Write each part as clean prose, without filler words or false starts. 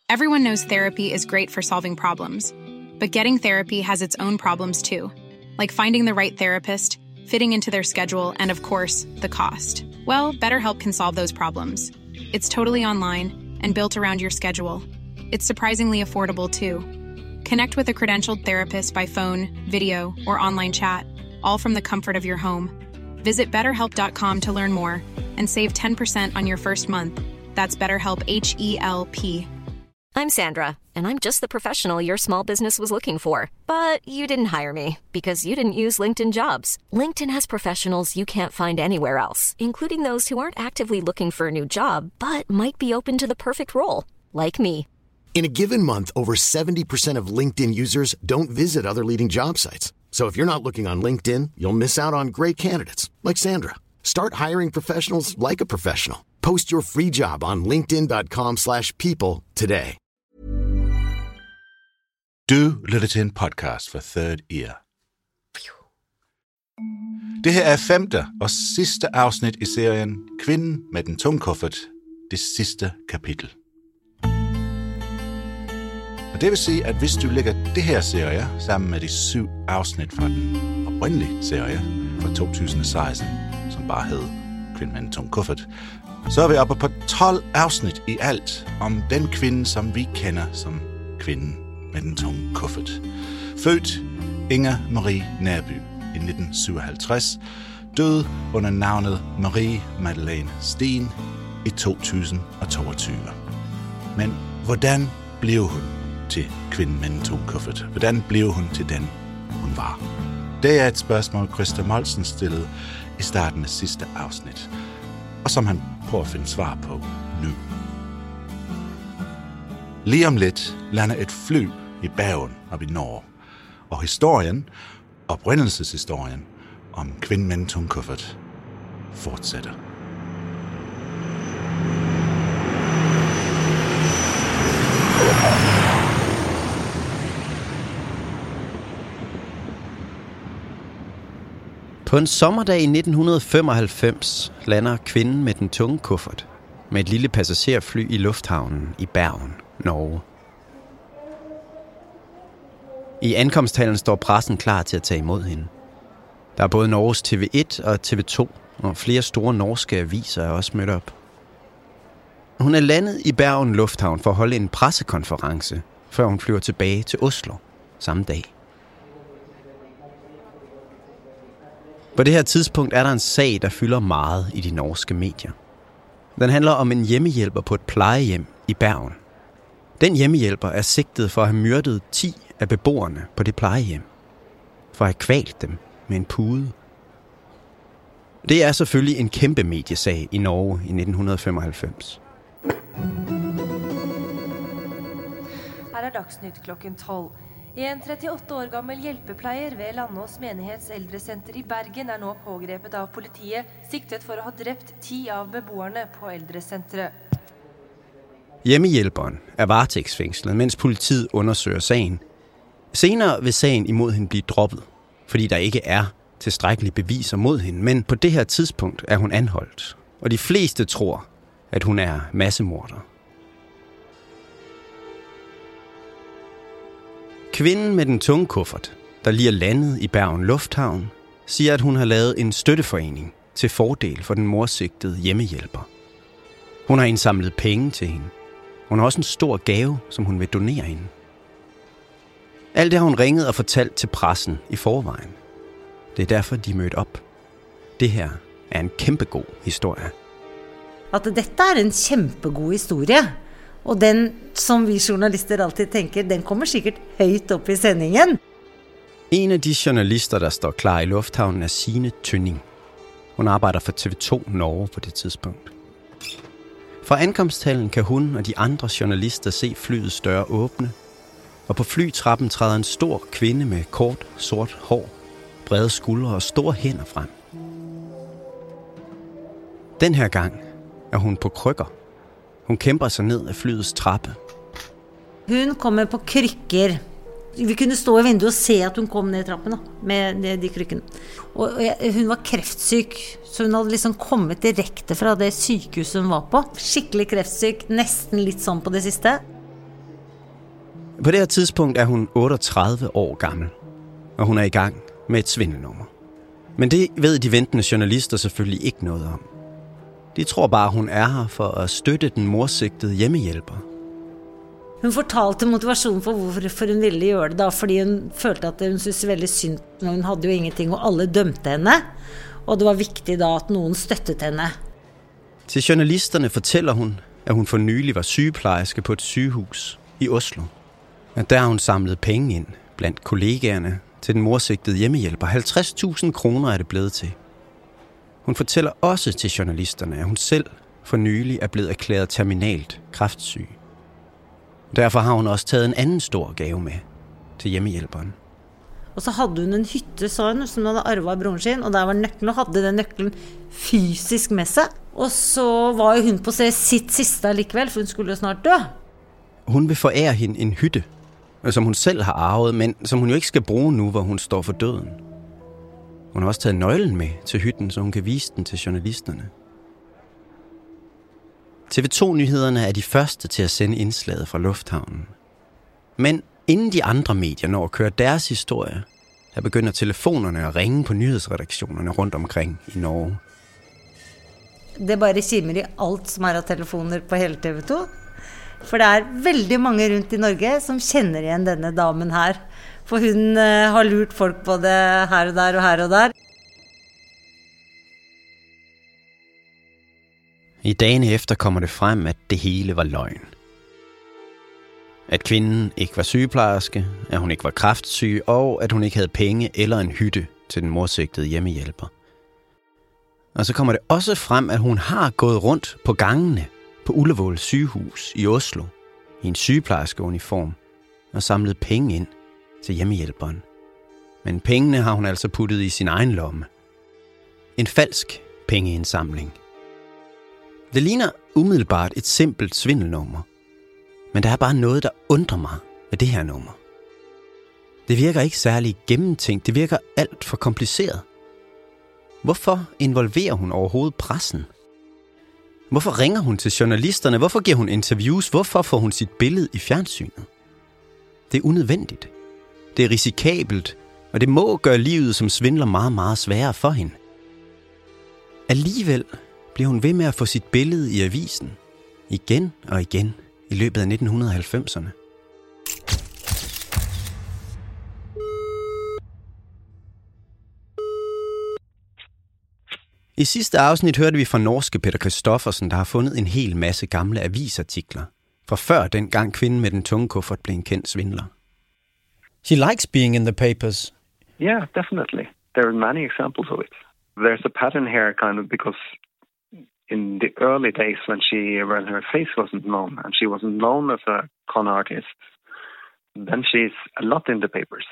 Everyone knows therapy is great for solving problems, but getting therapy has its own problems too, like finding the right therapist, fitting into their schedule, and of course, the cost. Well, BetterHelp can solve those problems. It's totally online and built around your schedule. It's surprisingly affordable too. Connect with a credentialed therapist by phone, video, or online chat, all from the comfort of your home. Visit BetterHelp.com to learn more and save 10% on your first month. That's BetterHelp, H-E-L-P. I'm Sandra, and I'm just the professional your small business was looking for. But you didn't hire me because you didn't use LinkedIn Jobs. LinkedIn has professionals you can't find anywhere else, including those who aren't actively looking for a new job, but might be open to the perfect role, like me. In a given month, over 70% of LinkedIn users don't visit other leading job sites. So if you're not looking on LinkedIn, you'll miss out on great candidates like Sandra. Start hiring professionals like a professional. Post your free job on linkedin.com/people today. Du lytter til en podcast for Third Ear. Det her er 5. og sidste afsnit i serien Kvinden med den tunge kuffert, det sidste kapitel. Og det vil sige, at hvis du lægger det her serie sammen med de 7 afsnit fra den oprindelige serie fra 2016, som bare hed Kvinden med den tunge kuffert, så er vi oppe på 12 afsnit i alt om den kvinde, som vi kender som Kvinden med den tunge kuffert. Født Inger Marie Nærby i 1957, døde under navnet Marie Madeleine Steen i 2022. Men hvordan blev hun til Kvinden med den tunge kuffert? Hvordan blev hun til den, hun var? Det er et spørgsmål, Christa Molsen stillede i starten af sidste afsnit, og som han prøver at finde svar på nu. Lige om lidt lander et fly i Bergen op i Norge, og oprindelseshistorien om Kvinden med den tunge kuffert fortsætter. På en sommerdag i 1995 lander Kvinden med den tunge kuffert med et lille passagerfly i lufthavnen i Bergen, Norge. I ankomsthallen står pressen klar til at tage imod hende. Der er både Norges TV1 og TV2, og flere store norske aviser er også mødt op. Hun er landet i Bergen Lufthavn for at holde en pressekonference, før hun flyver tilbage til Oslo samme dag. På det her tidspunkt er der en sag, der fylder meget i de norske medier. Den handler om en hjemmehjælper på et plejehjem i Bergen. Den hjemmehjælper er sigtet for at have myrdet 10 af beboerne på det plejehjem. For at have kvalt dem med en pude. Det er selvfølgelig en kæmpe mediesag i Norge i 1995. Her er Dagsnytt klokken 12. En 38 år gammel hjælpeplejer ved Landås Menighets Eldrecenter i Bergen er nå pågrepet av politiet, sigtet for at have dræbt 10 av beboerne på eldrecenteret. Hjemmehjælperen er varetægtsfængslet, mens politiet undersøger sagen. Senere vil sagen imod hende blive droppet, fordi der ikke er tilstrækkelige beviser mod hende, men på det her tidspunkt er hun anholdt, og de fleste tror, at hun er massemorder. Kvinden med den tunge kuffert, der lige er landet i Bergen Lufthavn, siger, at hun har lavet en støtteforening til fordel for den morsigtede hjemmehjælper. Hun har indsamlet penge til hende. Hun har også en stor gave, som hun vil donere hende. Alt det har hun ringet og fortalt til pressen i forvejen. Det er derfor, de mødte op. Det her er en kæmpegod historie. At dette er en kæmpegod historie. Og den, som vi journalister altid tænker, den kommer sikkert højt op i sendingen. En af de journalister, der står klar i lufthavnen, er Signe Tønning. Hun arbejder for TV2 Norge på det tidspunkt. Fra ankomsthallen kan hun og de andre journalister se flyets døre åbne, og på flytrappen træder en stor kvinde med kort, sort hår, brede skuldre og store hænder frem. Den her gang er hun på krykker. Hun kæmper sig ned af flyets trappe. Hun kommer på krykker. Vi kunne stå i vinduet og se, at hun kom ned trappen med de krykkene. Og hun var kræftsyg, så hun havde liksom kommet direkte fra det sykehus hun var på. Skikkelig kræftsyg, næsten lidt sådan på det sidste. På det her tidspunkt er hun 38 år gammel, og hun er i gang med et svindelnummer. Men det ved de ventende journalister selvfølgelig ikke noget om. De tror bare, hun er her for at støtte den morsigtede hjemmehjælper. Hun fortalte motivasjonen for hvorfor hun ville gjøre det, da, fordi hun følte at hun syntes veldig synd. Hun havde jo ingenting, og alle dømte henne. Og det var vigtigt da, at nogen støttede henne. Til journalisterne fortæller hun, at hun for nylig var sygeplejerske på et sygehus i Oslo. Og der har hun samlet penge ind blandt kollegaerne til den morsigtede hjemmehjælper. 50.000 kroner er det blevet til. Hun fortæller også til journalisterne, at hun selv for nylig er blevet erklæret terminalt kræftsyg. Derfor har hun også taget en anden stor gave med til hjemmehjælperen. Og så havde hun en hytte, sa hun, som hun havde arvet af broren sin, og der var nøkkelen, og havde den nøkkelen fysisk med sig. Og så var hun på sitt sidste alligevel, for hun skulle jo snart dø. Hun vil forære hende en hytte, som hun selv har arvet, men som hun jo ikke skal bruge nu, hvor hun står for døden. Hun har også taget nøglen med til hytten, så hun kan vise den til journalisterne. TV2-nyhederne er de første til at sende indslaget fra lufthavnen. Men inden de andre medier når at køre deres historie, der begynder telefonerne at ringe på nyhedsredaktionerne rundt omkring i Norge. Det bare kimer i alt som af telefoner på hele TV2. For det veldig mange rundt i Norge som kender igen denne damen her. For hun har lurt folk både her og der og her og der. I dagene efter kommer det frem, at det hele var løgn. At kvinden ikke var sygeplejerske, at hun ikke var kræftsyg, og at hun ikke havde penge eller en hytte til den morsigtede hjemmehjælper. Og så kommer det også frem, at hun har gået rundt på gangene på Ullevål sygehus i Oslo i en sygeplejerskeuniform og samlet penge ind til hjemmehjælperen. Men pengene har hun altså puttet i sin egen lomme. En falsk pengeindsamling. Det ligner umiddelbart et simpelt svindelnummer, men der er bare noget, der undrer mig ved det her nummer. Det virker ikke særlig gennemtænkt, det virker alt for kompliceret. Hvorfor involverer hun overhovedet pressen? Hvorfor ringer hun til journalisterne? Hvorfor giver hun interviews? Hvorfor får hun sit billede i fjernsynet? Det er unødvendigt. Det er risikabelt, og det må gøre livet som svindler meget, meget sværere for hende. Alligevel bliver hun ved med at få sit billede i avisen, igen og igen, i løbet af 1990'erne. I sidste afsnit hørte vi fra norske Peter Christoffersen, der har fundet en hel masse gamle avisartikler, fra før dengang kvinden med den tunge kuffert blev en kendt svindler. She likes being in the papers. Yeah, definitely. There are many examples of it. There's a pattern here kind of because in the early days when her face wasn't known and she wasn't known as a con artist, then she's a lot in the papers.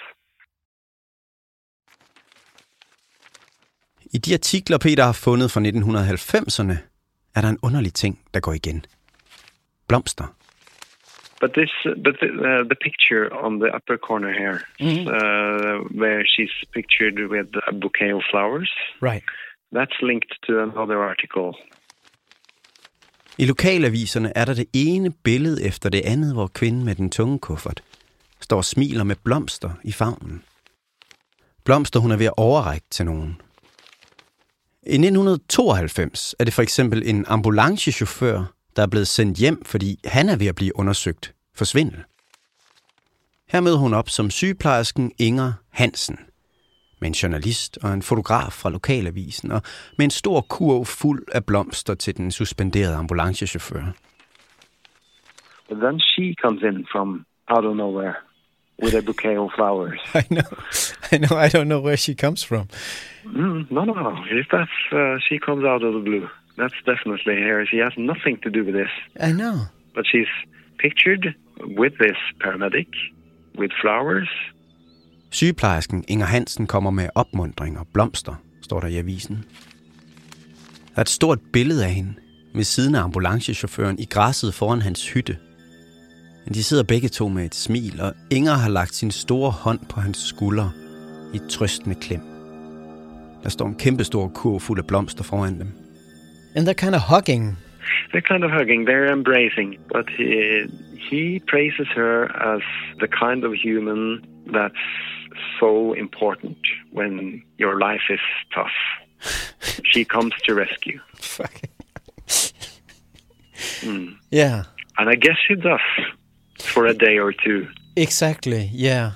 I de artikler, Peter har fundet fra 1990'erne, er der en underlig ting, der går igen. Blomster. But the picture on the upper corner here, where she's pictured with a bouquet of flowers, right? That's linked to another article. I lokalaviserne er der det ene billede efter det andet, hvor kvinden med den tunge kuffert står og smiler med blomster i favnen. Blomster, hun er ved at overrække til nogen. I 1992 er det for eksempel en ambulancechauffør, der er blevet sendt hjem, fordi han er ved at blive undersøgt for svindel. Her møder hun op som sygeplejersken Inger Hansen, med en journalist og en fotograf fra lokalavisen, og med en stor kurv fuld af blomster til den suspenderede ambulancechauffør. But then she comes in from out of nowhere with a bouquet of flowers. I know. I don't know where she comes from. No. If that's she comes out of the blue, that's definitely her. She has nothing to do with this. I know. But she's pictured with this paramedic, with flowers. Sygeplejersken Inger Hansen kommer med opmuntring og blomster, står der i avisen. Der er et stort billede af hende ved siden af ambulancechaufføren i græsset foran hans hytte. De sidder begge to med et smil, og Inger har lagt sin store hånd på hans skulder i et trøstende klem. Der står en kæmpestor kurv fuld af blomster foran dem. And they're kind of hugging. They're kind of hugging, they're embracing, but He praises her as the kind of human that's so important when your life is tough. She comes to rescue. Yeah. And I guess she does for a day or two. Exactly, yeah.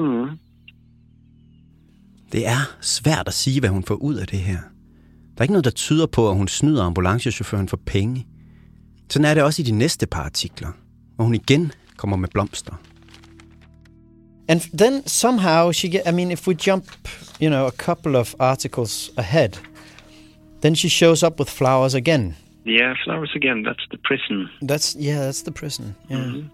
Det er svært at sige, hvad hun får ud af det her. Der er ikke noget, der tyder på, at hun snyder ambulancechaufføren for penge. Sådan er det også i de næste par artikler, hvor hun igen kommer med blomster. And then somehow if we jump, a couple of articles ahead, then she shows up with flowers again. Yeah, flowers again. That's the prison. That's the prison. Yeah. Mm-hmm.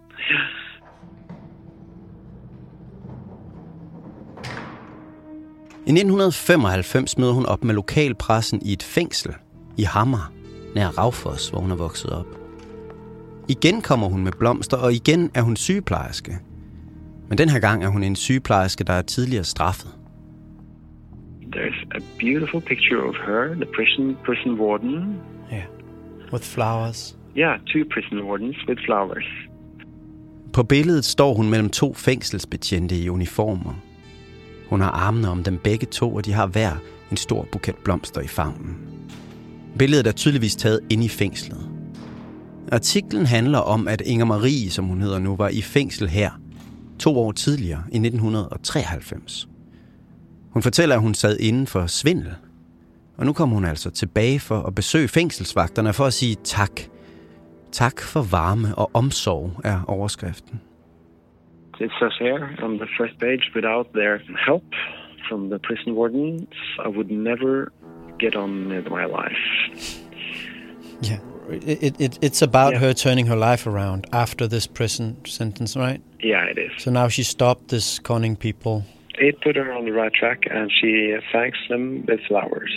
I 1995 møder hun op med lokalpressen i et fængsel i Hammer, nær Raufoss, hvor hun er vokset op. Igen kommer hun med blomster, og igen er hun sygeplejerske. Men den her gang er hun en sygeplejerske, der er tidligere straffet. There's a beautiful picture of her, the prison warden. Yeah, with flowers. Yeah, 2 prison wardens with flowers. På billedet står hun mellem 2 fængselsbetjente i uniformer. Hun har armene om dem begge 2, og de har hver en stor buket blomster i favnen. Billedet er tydeligvis taget inde i fængslet. Artiklen handler om, at Inger Marie, som hun hedder nu, var i fængsel her 2 år tidligere, i 1993. Hun fortæller, at hun sad inde for svindel. Og nu kommer hun altså tilbage for at besøge fængselsvagterne for at sige tak. Tak for varme og omsorg er overskriften. It says here on the first page, without their help from the prison wardens, I would never get on with my life. Yeah, it's about her turning her life around after this prison sentence, right? Yeah, it is. So now she stopped this conning people. It put her on the right track, and she thanks them with flowers.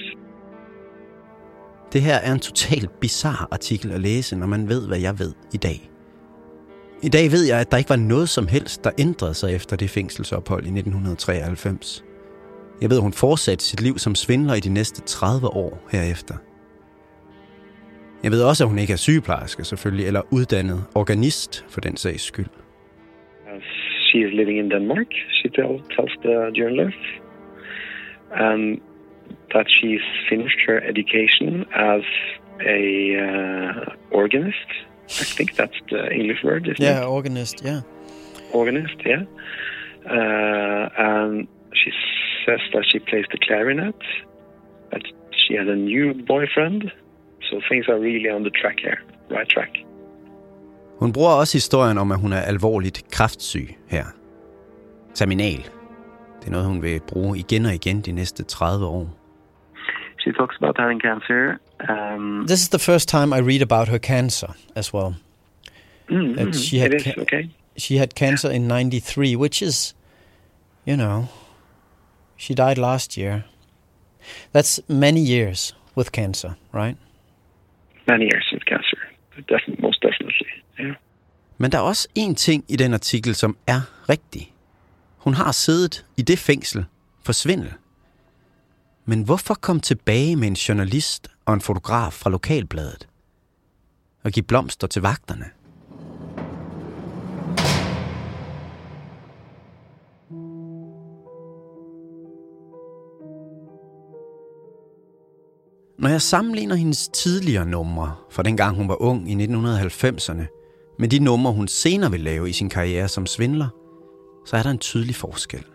Det her er en totalt bizarre artikel at læse, når man ved, hvad jeg ved i dag. I dag ved jeg, at der ikke var noget som helst, der ændrede sig efter det fængselsophold i 1993. Jeg ved, at hun fortsatte sit liv som svindler i de næste 30 år herefter. Jeg ved også, at hun ikke er sygeplejerske selvfølgelig, eller uddannet organist for den sags skyld. She is living in Denmark, she tells the journalist, and that she's finished her education as a organist. I think that's the English word, isn't it? Yeah, organist, yeah. Organist, yeah. And she says that she plays the clarinet, that she has a new boyfriend, so things are really on the track here, right track. Hun bruger også historien om, at hun er alvorligt kræftsyg her. Terminal. Det er noget, hun vil bruge igen og igen de næste 30 år. She talks about having cancer. This is the first time I read about her cancer as well. She had cancer in 93, which is, she died last year. That's many years with cancer, right? Many years with cancer, most definitely, yeah. Men der er også en ting i den artikel, som er rigtig. Hun har siddet i det fængsel for svindel. Men hvorfor komme tilbage med en journalist og en fotograf fra lokalbladet og give blomster til vagterne? Når jeg sammenligner hendes tidligere numre fra dengang hun var ung i 1990'erne med de numre hun senere vil lave i sin karriere som svindler, så er der en tydelig forskel.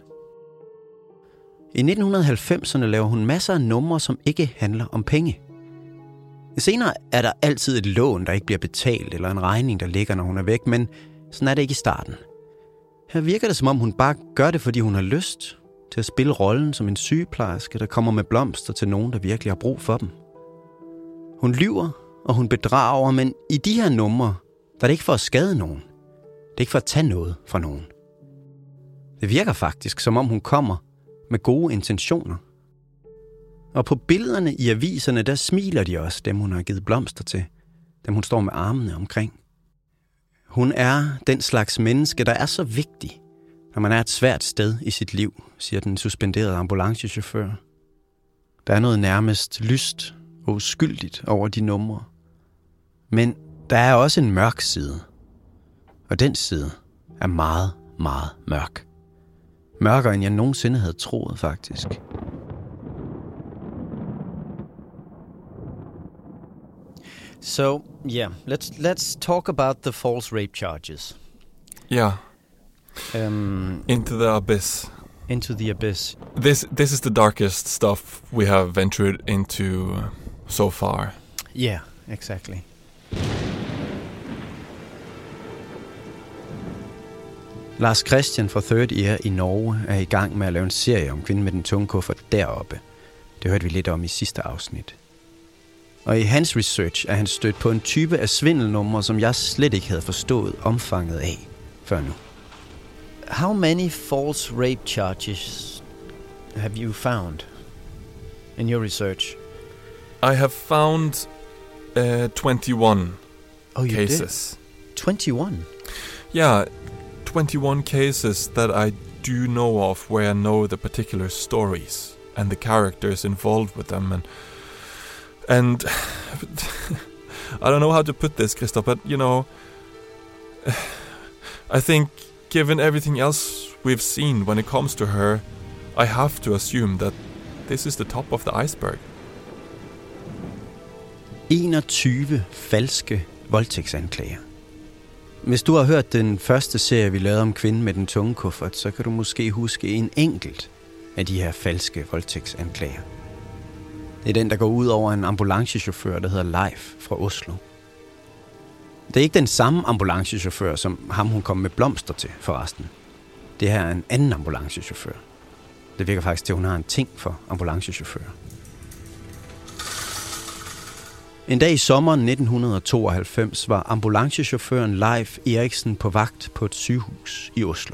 I 1990'erne laver hun masser af numre, som ikke handler om penge. Senere er der altid et lån, der ikke bliver betalt, eller en regning, der ligger, når hun er væk, men sådan er det ikke i starten. Her virker det, som om hun bare gør det, fordi hun har lyst til at spille rollen som en sygeplejerske, der kommer med blomster til nogen, der virkelig har brug for dem. Hun lyver, og hun bedrager, men i de her numre, der er det ikke for at skade nogen. Det er ikke for at tage noget fra nogen. Det virker faktisk, som om hun kommer med gode intentioner. Og på billederne i aviserne, der smiler de også, dem hun har givet blomster til. Dem hun står med armene omkring. Hun er den slags menneske, der er så vigtig, når man er et svært sted i sit liv, siger den suspenderede ambulancechauffør. Der er noget nærmest lyst og uskyldigt over de numre. Men der er også en mørk side. Og den side er meget, meget mørk. Mørkere end jeg nogensinde havde troet, faktisk. So, yeah, let's talk about the false rape charges. Yeah. Into the abyss. Into the abyss. This is the darkest stuff we have ventured into so far. Yeah, exactly. Lars Christian fra Third Ear i Norge er i gang med at lave en serie om kvinden med den tunge kuffert deroppe. Det hørte vi lidt om i sidste afsnit. Og i hans research er han stødt på en type af svindelnumre, som jeg slet ikke havde forstået omfanget af før nu. How many false rape charges have you found in your research? I have found 21 cases. Did? 21? Yeah, 21 cases that I do know of where I know the particular stories and the characters involved with them. And I don't know how to put this, Christoph, but you know, I think given everything else we've seen when it comes to her, I have to assume that this is the top of the iceberg. 21 falske voldtægtsanklager. Hvis du har hørt den første serie, vi lavede om kvinden med den tunge kuffert, så kan du måske huske en enkelt af de her falske voldtægtsanklager. Det er den, der går ud over en ambulancechauffør, der hedder Leif fra Oslo. Det er ikke den samme ambulancechauffør, som ham hun kom med blomster til, forresten. Det her er en anden ambulancechauffør. Det virker faktisk til, at hun har en ting for ambulancechauffører. En dag i sommeren 1992 var ambulancechaufføren Leif Eriksen på vagt på et sygehus i Oslo.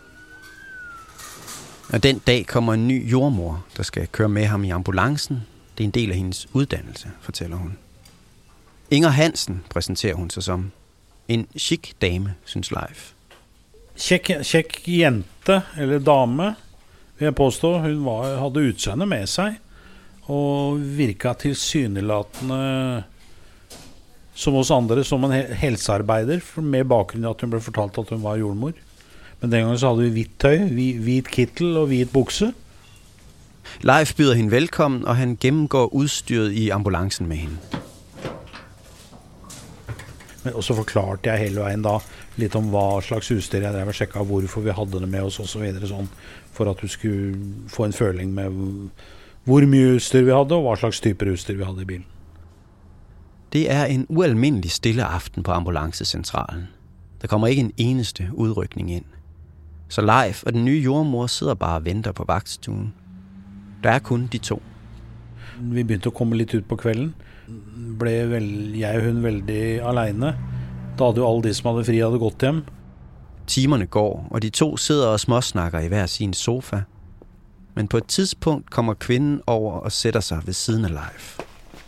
Og den dag kommer en ny jordmor, der skal køre med ham i ambulancen. Det er en del af hendes uddannelse, fortæller hun. Inger Hansen præsenterer hun sig som. En chic dame, synes Leif. Kjekk jente, eller dame, vil jeg påstå. Hun hadde utseende med sig, og virka tilsynelatende som oss andre, som en helsearbeider, med bakgrunn i at hun ble fortalt at hun var jordmor. Men den gangen så hadde vi hvitt tøy, hvit kittel og hvit bukse. Leif byder hende velkommen, og han gennemgår udstyret i ambulancen med hende. Og så forklarte jeg hele veien da litt om hva slags utstyr jeg drev og sjekket hvorfor vi hadde det med oss og så videre sånn, for at du skulle få en føling med hvor mye utstyr vi hadde og hva slags typer utstyr vi hadde i bilen. Det er en ualmindelig stille aften på ambulancecentralen. Der kommer ikke en eneste udrykning ind. Så Leif og den nye jordmor sidder bare og venter på vagtstuen. Der er kun de to. Vi begynte å komme litt ut på kvelden. Ble jeg og hun veldig alene. Da hadde jo alle de som hadde fri hadde gått hjem. Timerne går, og de to sidder og småsnakker i hver sin sofa. Men på et tidspunkt kommer kvinden over og sætter sig ved siden af Leif.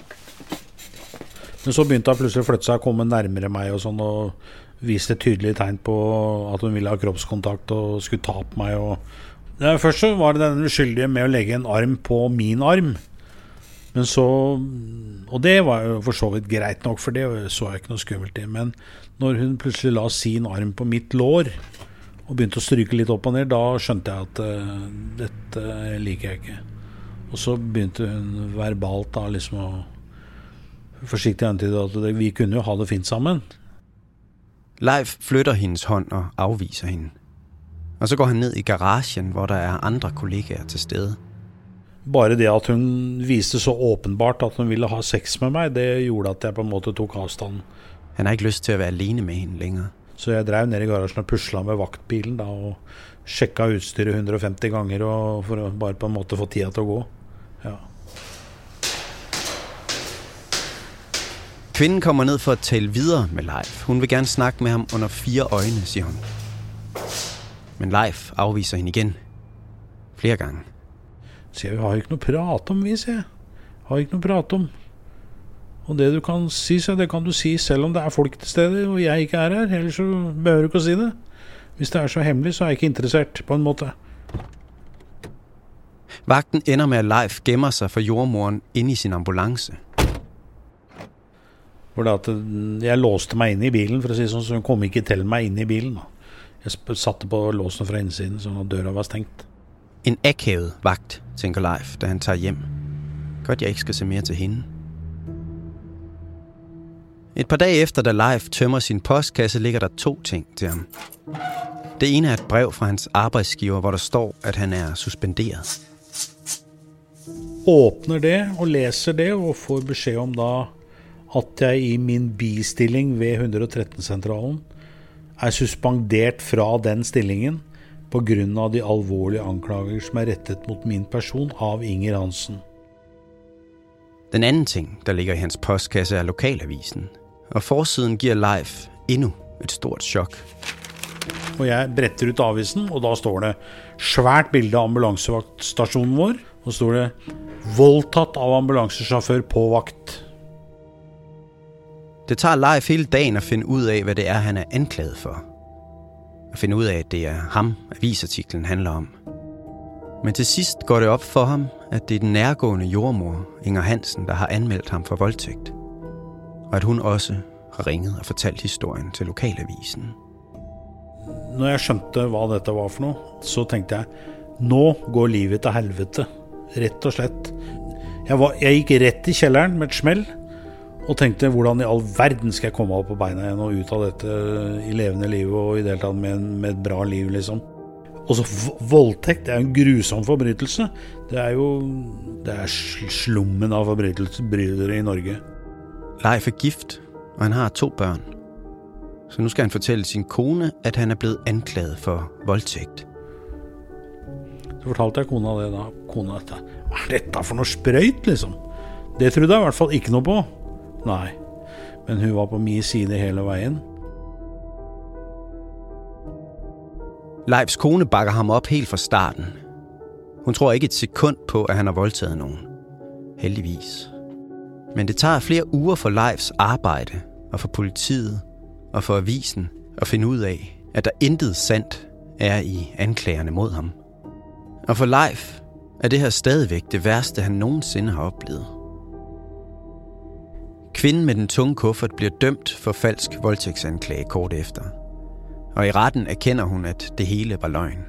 Men så begynte hun pludselig å flytte seg og komme nærmere meg og sånn, og viste tydelige tegn på at hun ville ha kroppskontakt og skulle ta på meg. Først så var det den uskyldige med å legge en arm på min arm. Men så, og det var jo for så vidt greit nok, for det så jeg ikke noe skummelt i. Men når hun plutselig la sin arm på mitt lår og begynte å stryke litt opp og ned, da skjønte jeg at dette liker jeg ikke. Og så begynte hun verbalt da liksom å forsiktig antyde at vi kunne jo ha det fint sammen. Leif flytter hendes hånd og afviser hende. Og så går han ned i garagen, hvor der er andre kollegaer til stede. Bare det at hun viste så åpenbart at hun ville ha sex med meg, det gjorde at jeg på en måte tok avstand. Han har ikke lyst til at være alene med hende længere. Så jeg drev ned i garagen og puslet med vaktbilen da, og sjekket utstyret 150 ganger og for å bare på en måte få tida til å gå. Ja. Kvinden kommer ned for at tale videre med Leif. Hun vil gerne snakke med ham under 4 øjne, siger hun. Men Leif afviser hende igen. Flere gange. Så jeg har ikke noe prat om, sier jeg. Har ikke noe prat om. Og det du kan si, så det kan du si selv om det er folk til stede, og jeg ikke er her. Ellers så behøver du ikke å si det. Hvis det er så hemmelig, så er jeg ikke interessert, på en måte. Vagten ender med, at Leif gemmer sig for jordmoren inde i sin ambulance. Hvor det at jeg låste meg inn i bilen, for å si det sånn, så hun kom ikke til meg inn i bilen. Da. Jeg satte på låsen fra innsiden, så døra var stengt. En akavet vagt, tænker Leif, da han tager hjem. Godt, jeg ikke skal se mere til hende. Et par dage efter, da Leif tømmer sin postkasse, ligger der 2 ting til ham. Det ene er et brev fra hans arbejdsgiver, hvor der står, at han er suspenderet. Åpner det og leser det, og får beskjed om da at jeg i min bistilling ved 113-sentralen er suspendert fra den stillingen på grunn av de alvorlige anklager som er rettet mot min person av Inger Hansen. Den anden ting, der ligger i hans postkasse, er lokalavisen. Og forsiden giver Leif endnu et stort chok. Og jeg bretter ut avisen, og da står det svært bilde av ambulansevaktstasjonen vår, og står det voldtatt av ambulansesjåfør på vakt. Det tager Leif hele dagen at finde ud af, hvad det er, han er anklaget for. At finde ud af, at det er ham, avisartiklen handler om. Men til sidst går det op for ham, at det er den nærgående jordmor, Inger Hansen, der har anmeldt ham for voldtægt. Og at hun også har ringet og fortalt historien til lokalavisen. Når jeg skjønte, hvad dette var for noe, så tenkte jeg, nå går livet til helvete. Rett og slett. Jeg gikk rett i kjelleren med et smell, og tenkte, hvordan i all verden skal jeg komme opp på beina igjen og ut av dette i levende liv og i deltatt med et bra liv, liksom. Og så voldtekt, det er en grusom forbrytelse. Det er slummen av forbrytelser i Norge. Leif er gift, og han har 2 børn. Så nu skal han fortælle sin kone, at han er blevet anklaget for voldtægt. Så fortalte jeg kona det da. Kona, hva er dette for noe sprøyt, liksom? Det trodde jeg i hvert fall ikke noe på. Nei, men hun var på min side hele veien. Leifs kone bakker ham op helt fra starten. Hun tror ikke et sekund på, at han har voldtaget nogen. Heldigvis. Men det tager flere uger for Leifs arbejde, og for politiet, og for avisen, at finde ud af, at der intet sandt er i anklagerne mod ham. Og for Leif er det her stadigvæk det værste, han nogensinde har oplevet. Kvinden med den tunge kuffert bliver dømt for falsk voldtægtsanklage kort efter. Og i retten erkender hun, at det hele var løgn.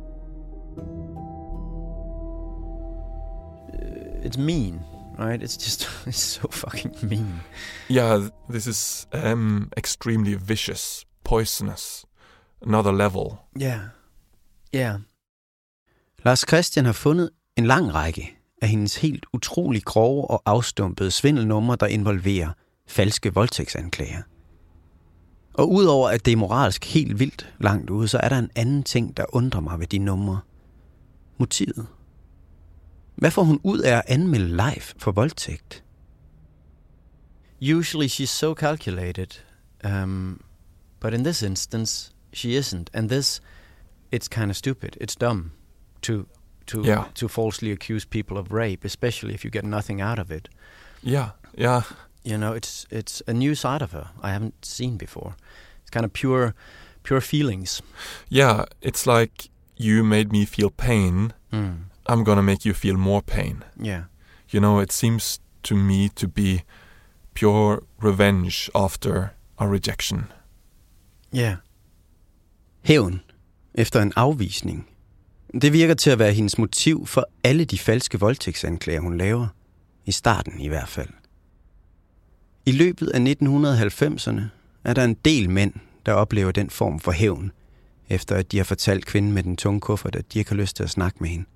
It's mean, right? It's so fucking mean. Yeah, this is extremely vicious, poisonous, another level. Yeah. Lars Christian har fundet en lang række af hendes helt utrolig grove og afstumpede svindelnumre, der involverer falske voldtægtsanklager. Og udover at det er moralsk helt vildt langt ude, så er der en anden ting, der undrer mig ved de numre. Motivet. Hvad får hun ud af at anmelde Leif for voldtægt? Usually she's so calculated, but in this instance she isn't. And this, it's kind of stupid. It's dumb to falsely accuse people of rape, especially if you get nothing out of it. Yeah. You know, it's a new side of her I haven't seen before. It's kind of pure feelings. Yeah, it's like you made me feel pain. I'm gonna make you feel more pain. Yeah. You know, it seems to me to be pure revenge after a rejection. Yeah. Hævn efter en afvisning. Det virker til at være hendes motiv for alle de falske voldtægtsanklager, hun laver. I starten i hvert fald. I løbet af 1990'erne er der en del mænd, der oplever den form for hævn, efter at de har fortalt kvinden med den tunge kuffert, at de ikke har lyst til at snakke med hende.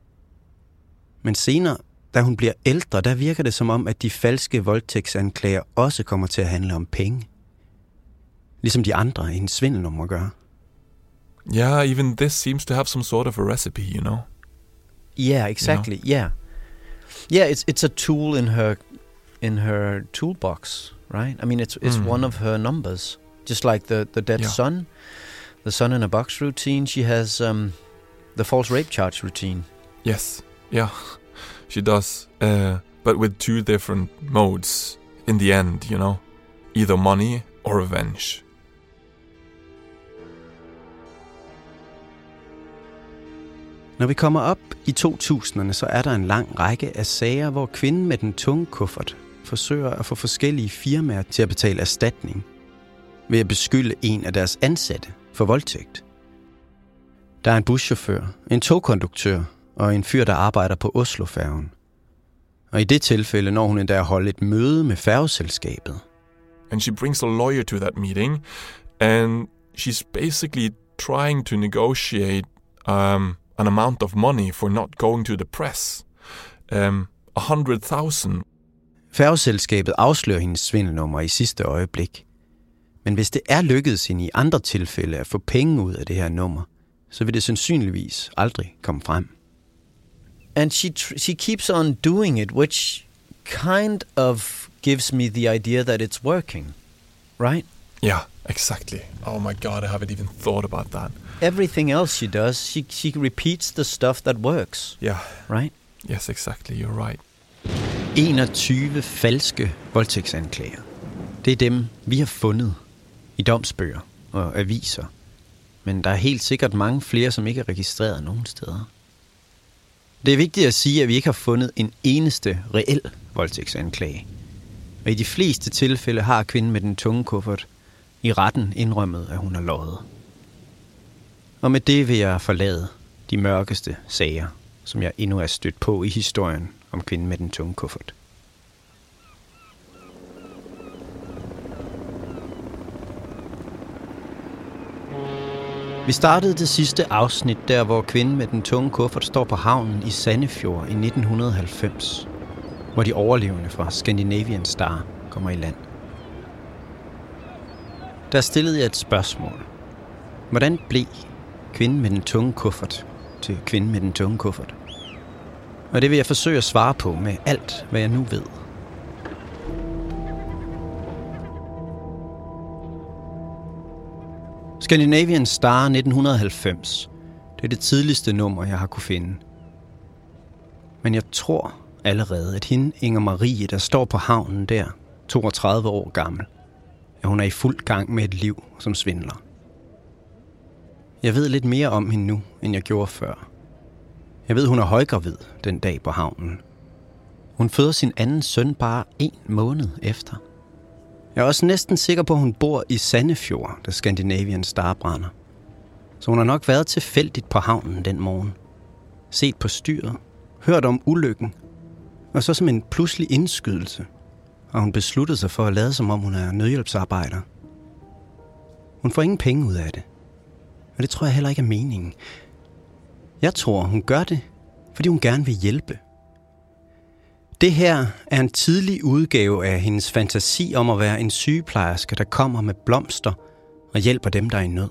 Men senere, da hun bliver ældre, der virker det som om, at de falske voldtægtsanklager også kommer til at handle om penge. Ligesom de andre i hendes svindelnumre gør. Yeah, even this seems to have some sort of a recipe, you know? Yeah, exactly, you know? Yeah, it's a tool in her toolbox, right? I mean, it's one of her numbers. Just like the dead son, the son in a box routine, she has the false rape charge routine. Yes, yeah, she does. But with 2 different modes in the end, you know? Either money or revenge. Når vi kommer op i 2000'erne, så er der en lang række af sager, hvor kvinden med den tunge kuffert forsøger at få forskellige firmaer til at betale erstatning ved at beskylde en af deres ansatte for voldtægt. Der er en buschauffør, en togkonduktør og en fyr, der arbejder på Oslofærgen. Og i det tilfælde når hun endda at holde et møde med færgeselskabet. And she brings a lawyer to that meeting, and she's basically trying to negotiate an amount of money for not going to the press. 100,000. Færgeselskabet afslører hendes svindelnummer i sidste øjeblik. Men hvis det er lykkedes hende i andre tilfælde at få penge ud af det her nummer, så vil det sandsynligvis aldrig komme frem. And she keeps on doing it, which kind of gives me the idea that it's working, right? Yeah, exactly. Oh my God, I haven't even thought about that. Everything else she does, she repeats the stuff that works. Yeah. Right? Yes, exactly. You're right. 21 falske voldtægtsanklager. Det er dem, vi har fundet i domsbøger og aviser. Men der er helt sikkert mange flere, som ikke er registreret nogen steder. Det er vigtigt at sige, at vi ikke har fundet en eneste reel voldtægtsanklage. Og i de fleste tilfælde har kvinden med den tunge kuffert i retten indrømmet, at hun har løjet. Og med det vil jeg forlade de mørkeste sager, som jeg endnu er stødt på i historien om kvinden med den tunge kuffert. Vi startede det sidste afsnit der, hvor kvinden med den tunge kuffert står på havnen i Sandefjord i 1990, hvor de overlevende fra Scandinavian Star kommer i land. Der stillede jeg et spørgsmål. Hvordan blev kvinden med den tunge kuffert til kvinden med den tunge kuffert? Og det vil jeg forsøge at svare på med alt, hvad jeg nu ved. Scandinavian Star 1990. Det er det tidligste nummer, jeg har kunne finde. Men jeg tror allerede, at hende, Inger Marie, der står på havnen der, 32 år gammel, at hun er i fuld gang med et liv som svindler. Jeg ved lidt mere om hende nu, end jeg gjorde før. Jeg ved, hun er højgravid den dag på havnen. Hun føder sin anden søn bare 1 måned efter. Jeg er også næsten sikker på, at hun bor i Sandefjord, da Scandinavian Star brænder. Så hun har nok været tilfældigt på havnen den morgen. Set på styret, hørt om ulykken, og så som en pludselig indskydelse, og hun besluttede sig for at lade som om hun er nødhjælpsarbejder. Hun får ingen penge ud af det, og det tror jeg heller ikke er meningen. Jeg tror, hun gør det, fordi hun gerne vil hjælpe. Det her er en tidlig udgave af hendes fantasi om at være en sygeplejerske, der kommer med blomster og hjælper dem, der er i nød.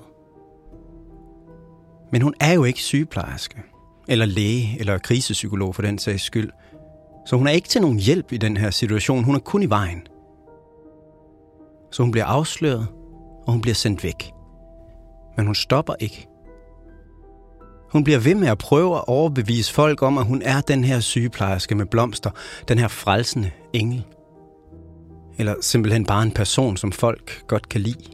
Men hun er jo ikke sygeplejerske, eller læge, eller krisepsykolog for den sags skyld. Så hun er ikke til nogen hjælp i den her situation. Hun er kun i vejen. Så hun bliver afsløret, og hun bliver sendt væk. Men hun stopper ikke. Hun bliver ved med at prøve at overbevise folk om, at hun er den her sygeplejerske med blomster, den her frelsende engel. Eller simpelthen bare en person, som folk godt kan lide.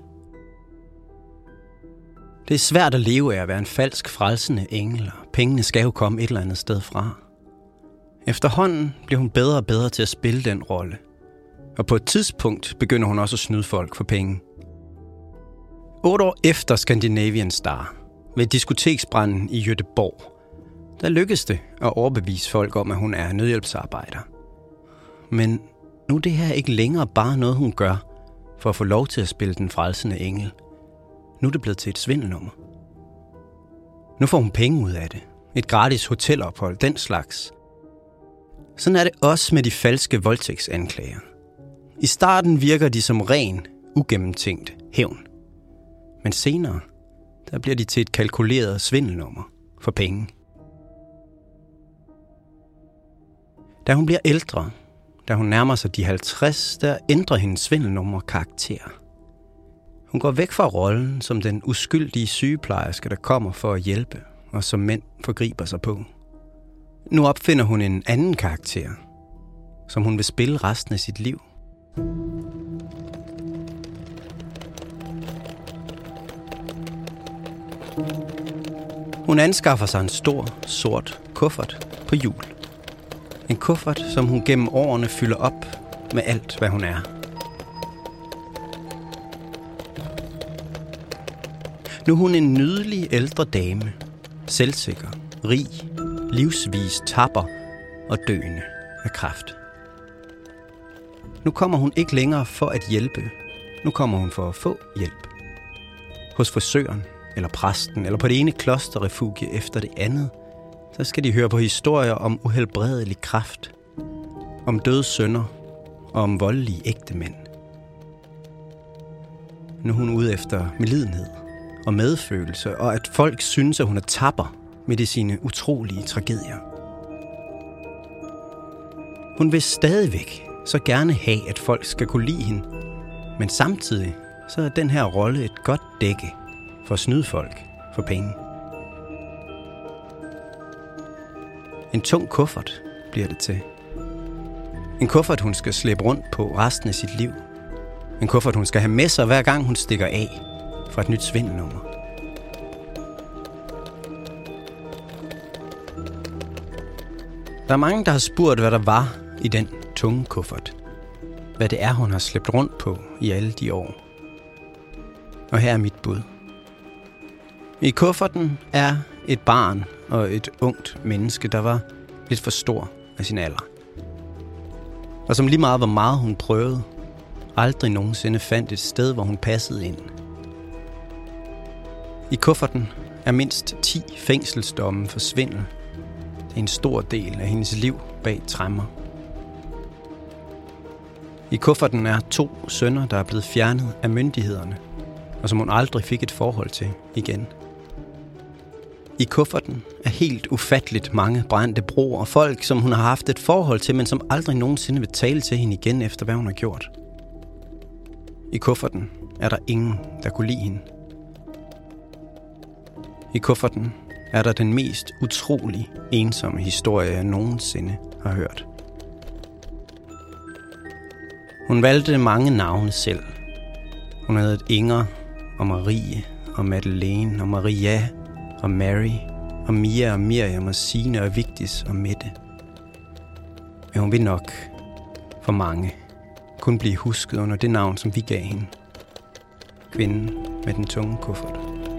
Det er svært at leve af at være en falsk frelsende engel, og pengene skal jo komme et eller andet sted fra. Efterhånden bliver hun bedre og bedre til at spille den rolle. Og på et tidspunkt begynder hun også at snyde folk for penge. 8 år efter Scandinavian Star, ved diskoteksbranden i Göteborg, der lykkedes det at overbevise folk om, at hun er nødhjælpsarbejder. Men nu er det her ikke længere bare noget, hun gør for at få lov til at spille den frelsende engel. Nu er det blevet til et svindelnummer. Nu får hun penge ud af det. Et gratis hotelophold, den slags. Sådan er det også med de falske voldtægtsanklager. I starten virker de som ren, ugennemtænkt hævn. Men senere, der bliver de til et kalkuleret svindelnummer for penge. Da hun bliver ældre, da hun nærmer sig de 50, der ændrer hendes svindelnummer karakter. Hun går væk fra rollen som den uskyldige sygeplejerske, der kommer for at hjælpe, og som mænd forgriber sig på. Nu opfinder hun en anden karakter, som hun vil spille resten af sit liv. Hun anskaffer sig en stor, sort kuffert på hjul. En kuffert, som hun gennem årene fylder op med alt, hvad hun er. Nu er hun en nydelig ældre dame, selvsikker, rig, livsvis, tapper og døende af kræft. Nu kommer hun ikke længere for at hjælpe. Nu kommer hun for at få hjælp. Hos frisøren, eller præsten, eller på det ene klosterrefugie efter det andet, så skal de høre på historier om uhelbredelig kræft, om døde sønner og om voldelige ægtemænd. Nu er hun ude efter medlidenhed og medfølelse, og at folk synes, at hun er tapper midt i sine utrolige tragedier. Hun vil stadigvæk så gerne have, at folk skal kunne lide hende, men samtidig så er den her rolle et godt dække for at snyde folk for penge. En tung kuffert bliver det til. En kuffert, hun skal slæbe rundt på resten af sit liv. En kuffert, hun skal have med sig, hver gang hun stikker af fra et nyt svindelnummer. Der er mange, der har spurgt, hvad der var i den tunge kuffert. Hvad det er, hun har slæbt rundt på i alle de år. Og her er mit bud. I kufferten er et barn og et ungt menneske, der var lidt for stor af sin alder. Og som lige meget hvor meget hun prøvede, aldrig nogensinde fandt et sted, hvor hun passede ind. I kufferten er mindst 10 fængselsdomme for svindel. Det er en stor del af hendes liv bag tremmer. I kufferten er 2 sønner, der er blevet fjernet af myndighederne, og som hun aldrig fik et forhold til igen. I kufferten er helt ufatteligt mange brændte broer og folk, som hun har haft et forhold til, men som aldrig nogensinde vil tale til hende igen efter, hvad hun har gjort. I kufferten er der ingen, der kunne lide hende. I kufferten er der den mest utrolig ensomme historie, jeg nogensinde har hørt. Hun valgte mange navne selv. Hun havde Inger og Marie og Madeleine og Maria og Mary og Mia og Miriam og Signe og Vigdis og Mette. Men hun vil nok for mange kun blive husket under det navn, som vi gav hende. Kvinden med den tunge kuffert.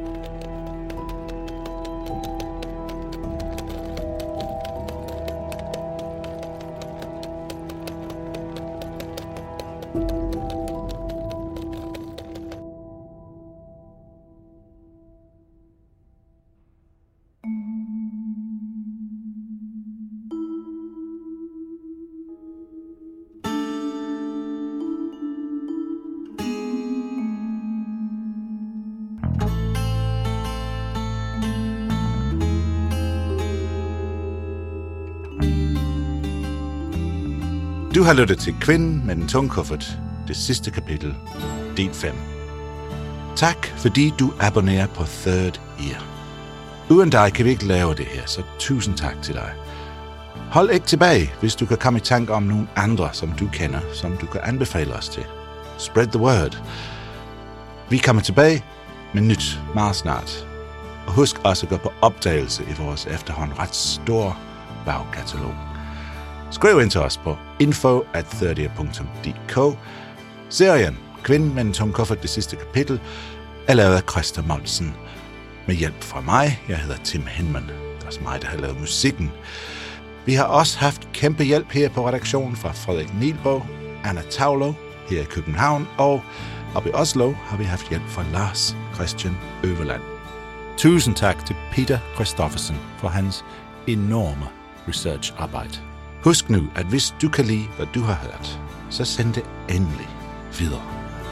Du har lyttet til Kvinden med den tunge kuffert, det sidste kapitel, del 5. Tak, fordi du abonnerer på Third Ear. Uden dig kan vi ikke lave det her, så tusind tak til dig. Hold ikke tilbage, hvis du kan komme i tanke om nogle andre, som du kender, som du kan anbefale os til. Spread the word. Vi kommer tilbage med nyt meget snart. Og husk også at gå på opdagelse i vores efterhånden ret store bagkatalog. Skriv ind til os på info@30.dk. Serien Kvinden med en tung kuffert, det sidste kapitel, er lavet af Christa Monsen. Med hjælp fra mig, jeg hedder Tim Hinman. Det er også mig, der har lavet musikken. Vi har også haft kæmpe hjælp her på redaktionen fra Frederik Nielbo, Anna Taulo her i København, og oppe i Oslo har vi haft hjælp fra Lars Christian Øverland. Tusind tak til Peter Christoffersen for hans enorme researcharbejde. Husk nu, at hvis du kan lide, hvad du har hørt, så send det endelig videre.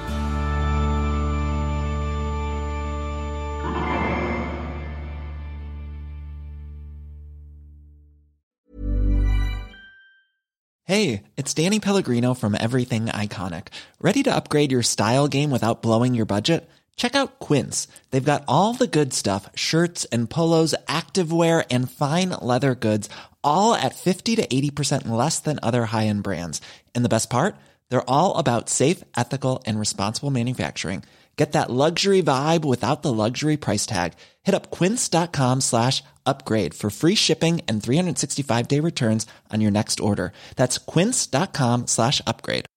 Hey, it's Danny Pellegrino from Everything Iconic. Ready to upgrade your style game without blowing your budget? Check out Quince. They've got all the good stuff, shirts and polos, activewear, and fine leather goods, all at 50 to 80% less than other high-end brands. And the best part? They're all about safe, ethical, and responsible manufacturing. Get that luxury vibe without the luxury price tag. Hit up quince.com/upgrade for free shipping and 365-day returns on your next order. That's quince.com/upgrade.